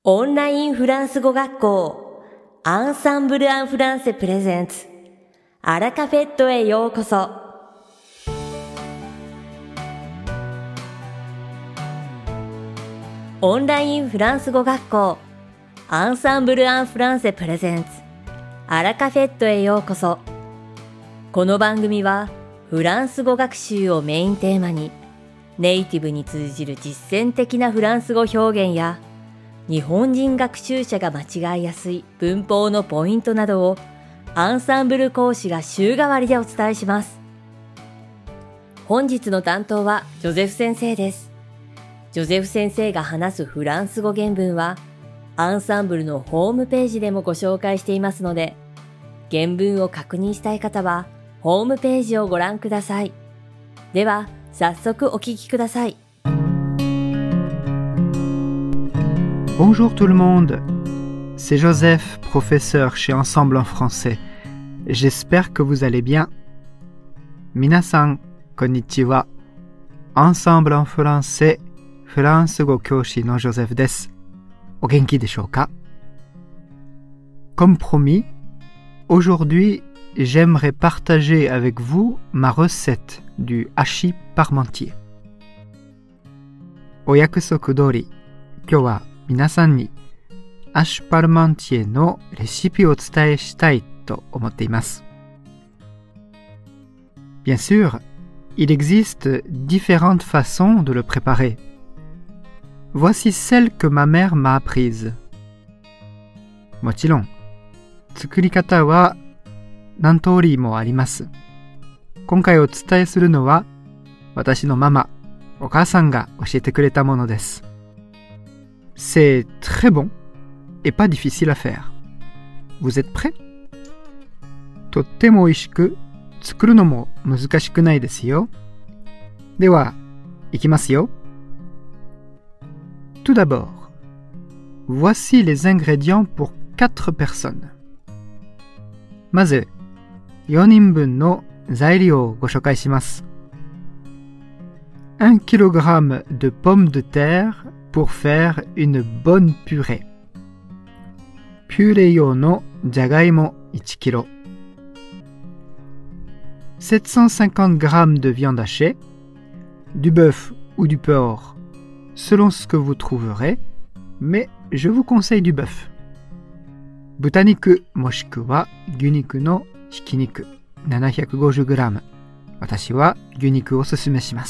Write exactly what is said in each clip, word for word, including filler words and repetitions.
オンラインフランス語学校アンサンブル・アン・フランセプレゼンツアラカフェットへようこそ。オンラインフランス語学校アンサンブル・アン・フランセプレゼンツアラカフェットへようこそ。この番組はフランス語学習をメインテーマにネイティブに通じる実践的なフランス語表現や日本人学習者が間違いやすい文法のポイントなどをアンサンブル講師が週替わりでお伝えします。本日の担当はジョゼフ先生です。ジョゼフ先生が話すフランス語原文はアンサンブルのホームページでもご紹介していますので、原文を確認したい方はホームページをご覧ください。では早速お聞きください。 Bonjour tout le monde, c'est Joseph, professeur chez Ensemble en français. J'espère que vous allez bien. Minasan, konnichiwa. Ensemble en français, フランス語教師のジョゼフです。お元気でしょうか? Comme promis, aujourd'hui, j'aimerais partager avec vous ma recette du hachis parmentier. お約束通り、今日は皆さんにハッシュパルマンティエのレシピをお伝えしたいと思っています。Bien sûr, il existe différentes façons de le préparer. Voici celle que ma mère m'a apprise. もちろん、作り方は何通りもあります。今回お伝えするのは私のママ、お母さんが教えてくれたものです。C'est très bon et pas difficile à faire. Vous êtes prêts? とっても美味しく、作るのも難しくないですよ。では、いきますよ。Tout d'abord, voici les ingrédients pour quatre personnes. まず、よにんぶんの材料をご紹介します。un kilogramme de pommes de terre pour faire une bonne purée. ピューレ用のじゃがいもいちキロ。sept cent cinquante grammes de viande hachée, du bœuf ou du porc, selon ce que vous trouverez, mais je vous conseille du bœuf. 豚肉もしくは牛肉のひき肉 ななひゃくごじゅうグラム。私は牛肉をおすすめします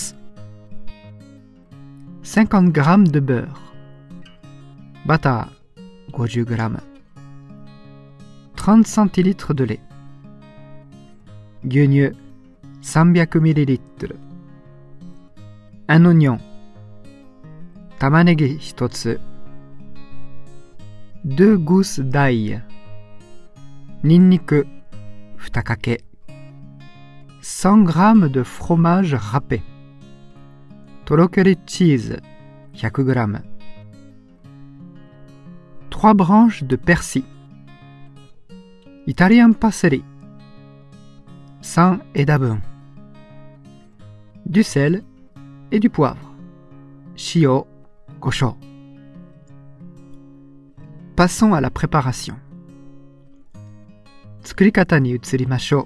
。cinquante grammes de beurre. バター ごじゅうグラム. trente centilitres de lait. 牛乳 さんびゃくミリリットル. un oignon. 玉ねぎひとつ. deux gousses d'ail. ニンニクにかけ. cent grammes de fromage râpé. とろけるチーズ ひゃくグラム. trois branches de persil. イタリアンパセリ さん枝分. du sel et du poivre. 塩、胡椒. Passons à la préparation. 作り方に移りましょ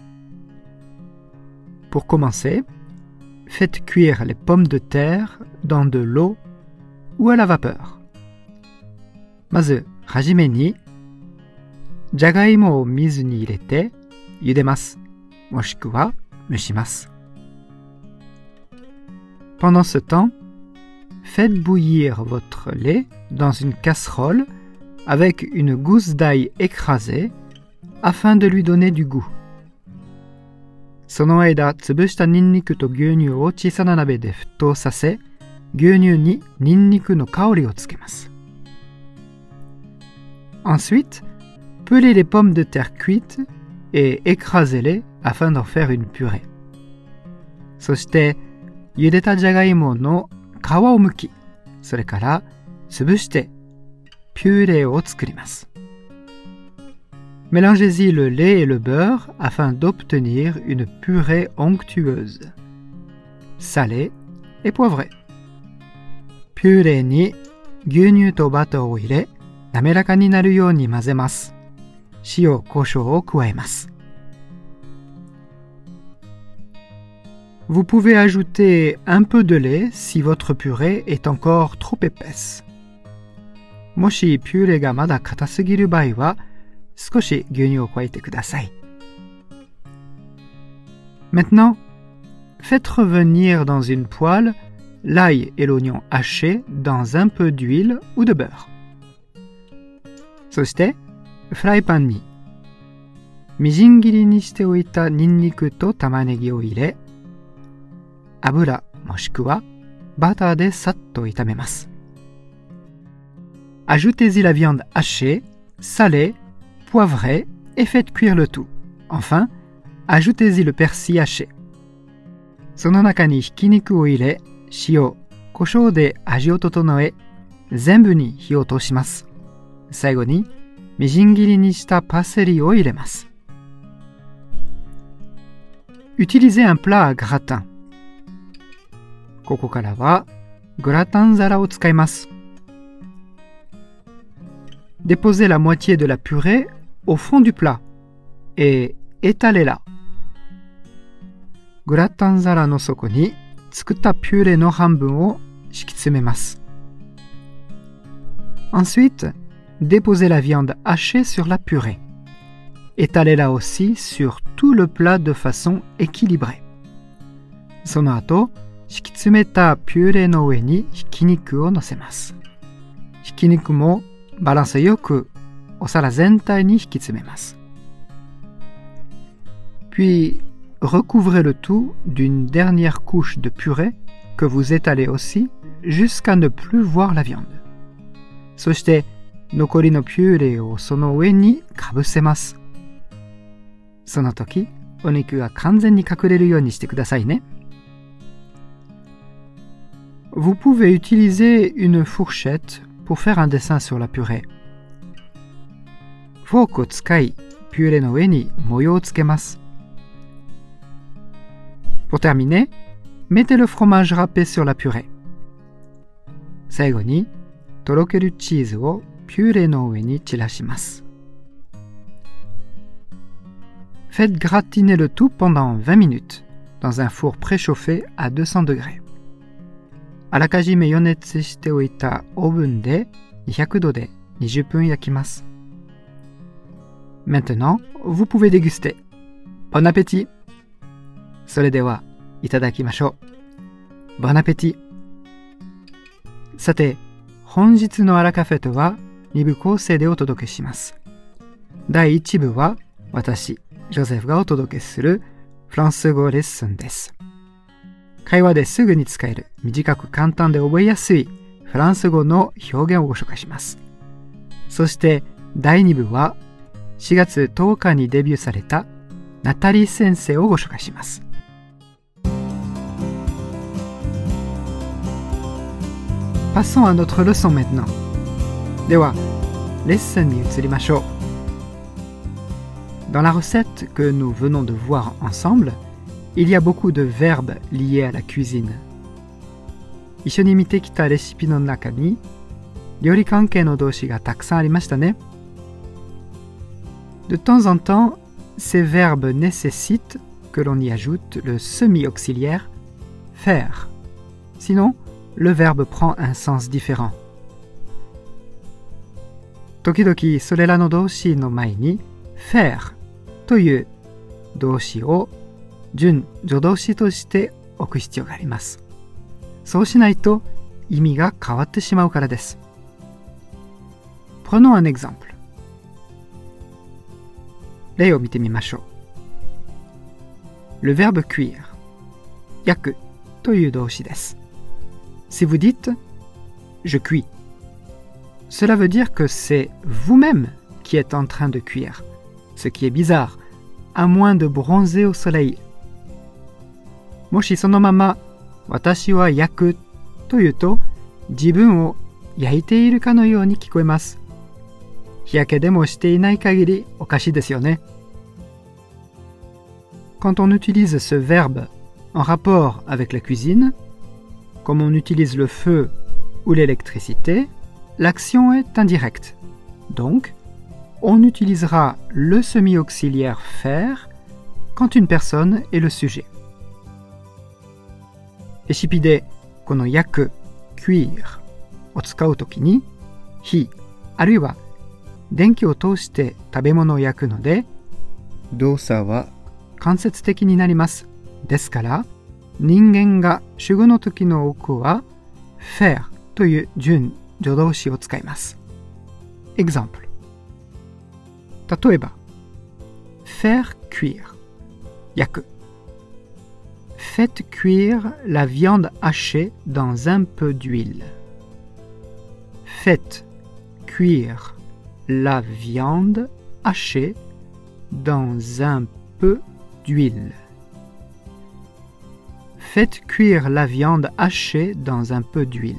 う. Pour commencer, faites cuire les pommes de terre dans de l'eau ou à la vapeur. まず、はじめに、じゃがいもを水に入れて茹でます。もしくは蒸します。Pendant ce temps, faites bouillir votre lait dans une casserole avec une gousse d'ail écrasée afin de lui donner du goût. その間、潰したニンニクと牛乳を小さな鍋で沸騰させ、牛乳にニンニクの香りをつけます。Ensuite, pelez les pommes de terre cuites et écrasez-les afin d'en faire une purée. そして、茹でたじゃがいもの皮を剥き、それから潰してピューレを作ります。Mélangez-y le lait et le beurre afin d'obtenir une purée onctueuse, salée et poivrée. ピューレに牛乳とバターを入れ、滑らかになるように混ぜます。塩、胡椒を加えます。Vous pouvez ajouter un peu de lait si votre purée est encore trop épaisse. もしピューレがまだ硬すぎる場合は、少し牛乳を加えてください。Maintenant, faites revenir dans une poêle l'ail et l'oignon hachés dans un peu d'huile ou de beurre. そして、フライパンに、みじん切りにしておいたニンニクと玉ねぎを入れ、油もしくはバターでさっと炒めます。Ajoutez-y la viande hachée, salée, poivrée et faites cuire le tout. Enfin, ajoutez-y le persil haché. その中にひき肉を入れ、塩、胡椒で味を整え、全部に火を通します。最後に、みじん切りにしたパセリを入れます。Utilisez un plat à gratin. ここからは、グラタン皿を使います。Déposez la moitié de la purée au fond du plat et étalez-la. グラタン皿の底に作ったピューレの半分を敷き詰めます。Ensuite, déposez la viande hachée sur la purée. Étalez-la aussi sur tout le plat de façon équilibrée. その後、敷き詰めたピューレの上にひき肉を乗せます。ひき肉もバランスよくお皿全体に引き詰めます。Puis, recouvrez le tout d'une dernière couche de purée que vous étalez aussi jusqu'à ne plus voir la viande. そして、残りのピューレをその上にかぶせます。その時、お肉が完全に隠れるようにしてくださいね。Vous pouvez utiliser une fourchette pour faire un dessin sur la purée. フォークを使い、ピューレの上に模様をつけます。Pour terminer, mettez le fromage râpé sur la purée. 最後に、とろけるチーズをピューレの上に散らします。Faites gratiner le tout pendant vingt minutes dans un four préchauffé à deux cents degrés. あらかじめ予熱しておいたオーブンでにひゃくどでにじゅっぷん焼きます。Maintenant, vous pouvez déguster. Bon appétit! それでは、いただきましょう。Bon appétit! さて、本日のアラカフェとはに部構成でお届けします。だいいち部は私、ジョゼフがお届けするフランス語レッスンです。会話ですぐに使える短く簡単で覚えやすいフランス語の表現をご紹介します。そしてだいに部はしがつとおかにデビューされたナタリー先生をご紹介します。Passons à notre leçon maintenant. では、レッスンに移りましょう。Dans la recette que nous venons de voir ensemble, il y a beaucoup de verbes liés à la cuisine. 一緒に見てきたレシピの中に料理関係の動詞がたくさんありましたね。De temps en temps, ces verbes nécessitent que l'on y ajoute le semi-auxiliaire faire. Sinon, le verbe prend un sens différent. 時々それらの動詞の前に faire という動詞を準助動詞として置く必要があります。そうしないと意味が変わってしまうからです。Prenons un exemple. 例を見てみましょう。Le verbe cuire 焼くという動詞です。Si vous dites je cuis, cela veut dire que c'est vous-même qui êtes en train de cuire, ce qui est bizarre, à moins de bronzer au soleil. もしそのまま私は焼くというと自分を焼いているかのように聞こえます。日焼けでもしていない限りおかしいですよね。Quand on utilise ce verbe en rapport avec la cuisine, comme on utilise le feu ou l'électricité, l'action est indirecte. Donc, on utilisera le semi-auxiliaire faire quand une personne est le sujet. レシピでこの焼く、cuire を使うときに、火、あるいは電気を通して食べ物を焼くので、動作は間接的になります。ですから、人間が主語の時の多くは faire という準助動詞を使います。Exemple。例えば、faire cuire 焼く。Faites cuire la viande hachée dans un peu d'huile. Faites cuire la viande hachée dans un peu d'huile. Faites cuire la viande hachée dans un peu d'huile.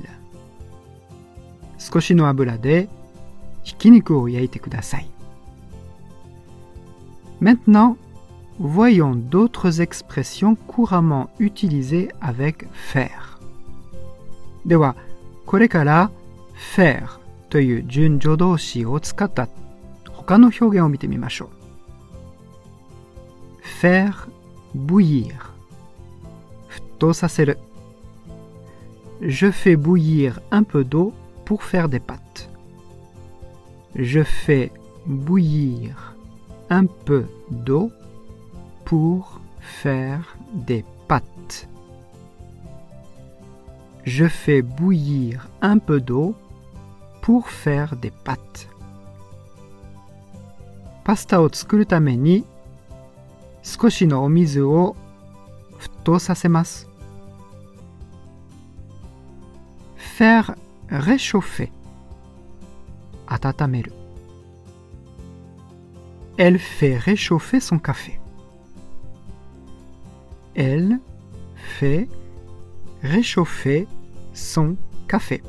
少しの油でひき肉を焼いてください。Maintenant, voyons d'autres expressions couramment utilisées avec faire. では、これから faire という準助動詞を使った他の表現を見てみましょう。faire bouillir 沸騰させる。Je fais bouillir un peu d'eau pour faire des pâtes. Je fais bouillir un peu d'eau pour faire des pâtes. Je fais bouillir un peu d'eau pour faire des pâtes. パスタを作るために少しのお水を沸騰させます。faire réchauffer 温める。Elle fait réchauffer son café. Elle fait réchauffer son café.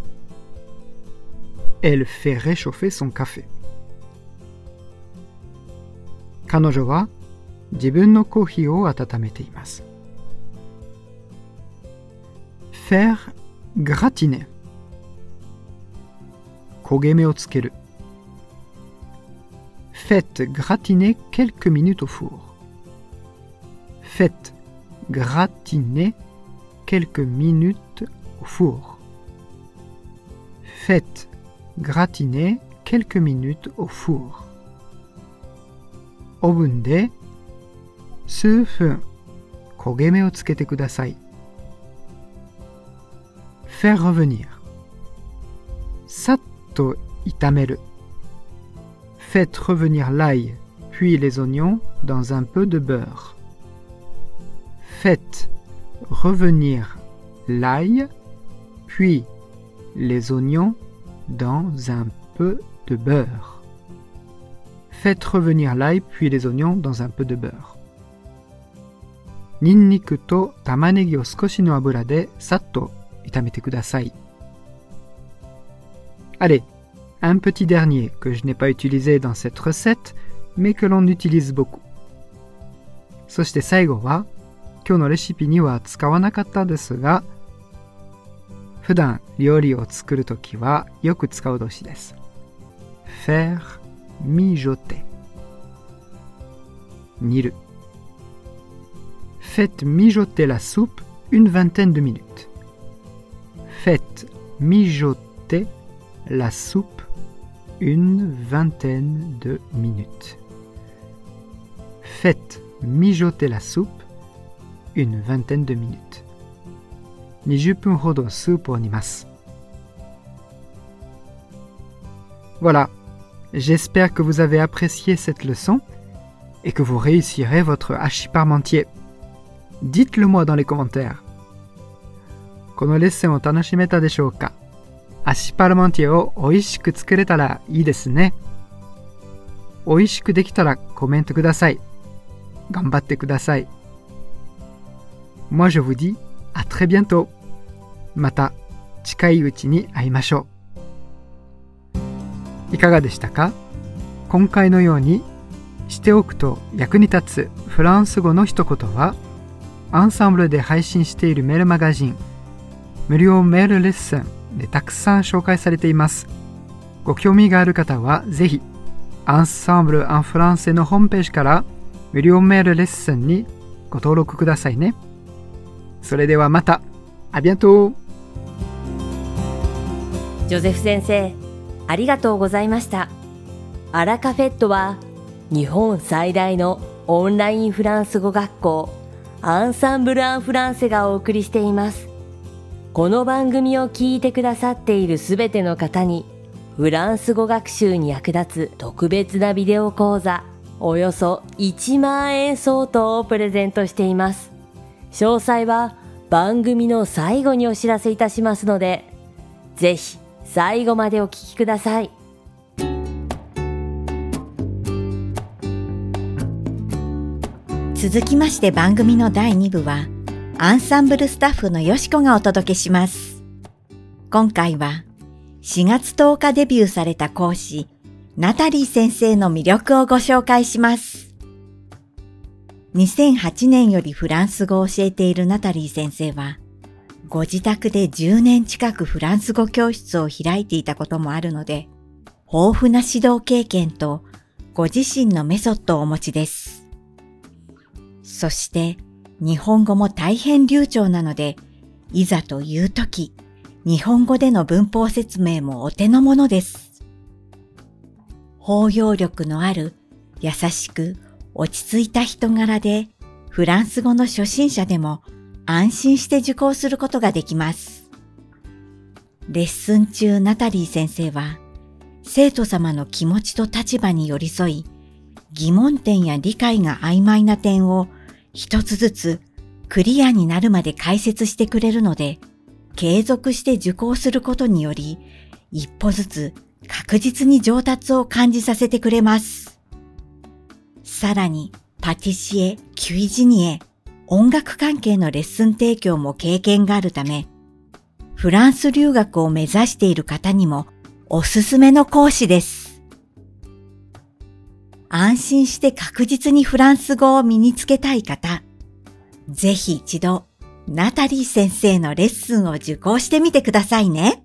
Elle fait réchauffer son café. 彼女は自分のコーヒーを温めています。faire gratiner 焦げ目をつける。Faites gratiner quelques minutes au four. Faites gratiner quelques minutes au four. Faites gratiner quelques minutes au four. オーブンで数分焦げ目をつけてください。faire revenir さっと炒める。Faites revenir l'ail, puis les oignons dans un peu de beurre. Faites revenir l'ail, puis les oignons dans un peu de beurre. Faites revenir l'ail, puis les oignons dans un peu de beurre. ニンニクと玉ねぎを少しの油でさっと炒めてください。Allez, un petit dernier que je n'ai pas utilisé dans cette recette, mais que l'on utilise beaucoup. そして最後は、今日のレシピには使わなかったですが、普段料理を作るときはよく使う動詞です。faire mijoter 煮る。Faites mijoter la soupe une vingtaine de minutes. Faites mijoter la soupe une vingtaine de minutes. Faites mijoter la soupe une vingtaine de minutes. にじゅっぷんほどスープを煮ます。Voilà, j'espère que vous avez apprécié cette leçon et que vous réussirez votre hachis parmentier. Dites-le moi dans les commentaires. このレッスンを楽しめたでしょうか？ハッシュパルモンティエを美味しく作れたらいいですね。美味しくできたらコメントください。頑張ってください。Moi je vous dis à très bientôt. また近いうちに会いましょう。いかがでしたか？今回のようにしておくと役に立つフランス語の一言は、アンサンブルで配信しているメールマガジン、無料メールレッスンでたくさん紹介されています。ご興味がある方はぜひEnsemble en Françaisのホームページから無料メールレッスンにご登録くださいね。それではまた。ありがとう。 ジョゼフ先生、ありがとうございました。アラカフェットは日本最大のオンラインフランス語学校アンサンブル・アン・フランセがお送りしています。この番組を聞いてくださっているすべての方にフランス語学習に役立つ特別なビデオ講座およそいちまんえん相当をプレゼントしています。詳細は番組の最後にお知らせいたしますので、ぜひ最後までお聞きください。 続きまして番組のだいに部はアンサンブルスタッフのよしこがお届けします。今回はしがつとおかデビューされた講師ナタリー先生の魅力をご紹介します。にせんはちねんよりフランス語を教えているナタリー先生は、ご自宅でじゅうねん近くフランス語教室を開いていたこともあるので、豊富な指導経験とご自身のメソッドをお持ちです。そして、日本語も大変流暢なので、いざというとき、日本語での文法説明もお手の物です。包容力のある、優しく、落ち着いた人柄で、フランス語の初心者でも安心して受講することができます。レッスン中ナタリー先生は、生徒様の気持ちと立場に寄り添い、疑問点や理解が曖昧な点を一つずつクリアになるまで解説してくれるので、継続して受講することにより、一歩ずつ確実に上達を感じさせてくれます。さらに、パティシエ、キュイジニエ、音楽関係のレッスン提供も経験があるため、フランス留学を目指している方にもおすすめの講師です。安心して確実にフランス語を身につけたい方、ぜひ一度、ナタリー先生のレッスンを受講してみてくださいね。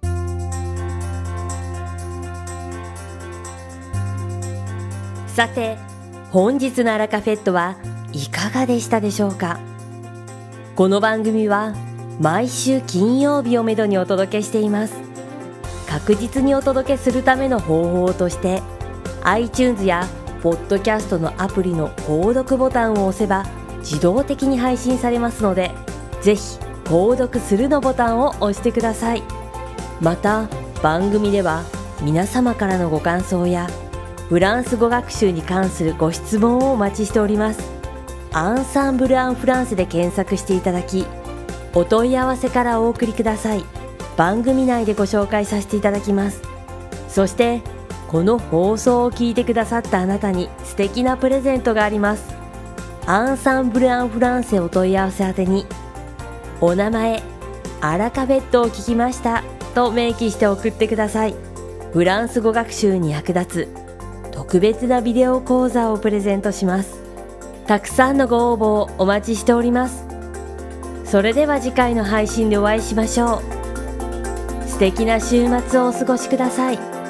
さて、本日のアラカフェットはいかがでしたでしょうか。この番組は毎週金曜日をめどにお届けしています。確実にお届けするための方法として iTunes やポッドキャストのアプリの購読ボタンを押せば自動的に配信されますので、ぜひ購読するのボタンを押してください。また番組では皆様からのご感想やフランス語学習に関するご質問をお待ちしております。アンサンブル・アン・フランセで検索していただき、お問い合わせからお送りください。番組内でご紹介させていただきます。そして、この放送を聞いてくださったあなたに素敵なプレゼントがあります。アンサンブル・アン・フランセお問い合わせ宛てに、お名前、アラカフェットを聞きましたと明記して送ってください。フランス語学習に役立つ特別なビデオ講座をプレゼントします。たくさんのご応募をお待ちしております。それでは次回の配信でお会いしましょう。素敵な週末をお過ごしください。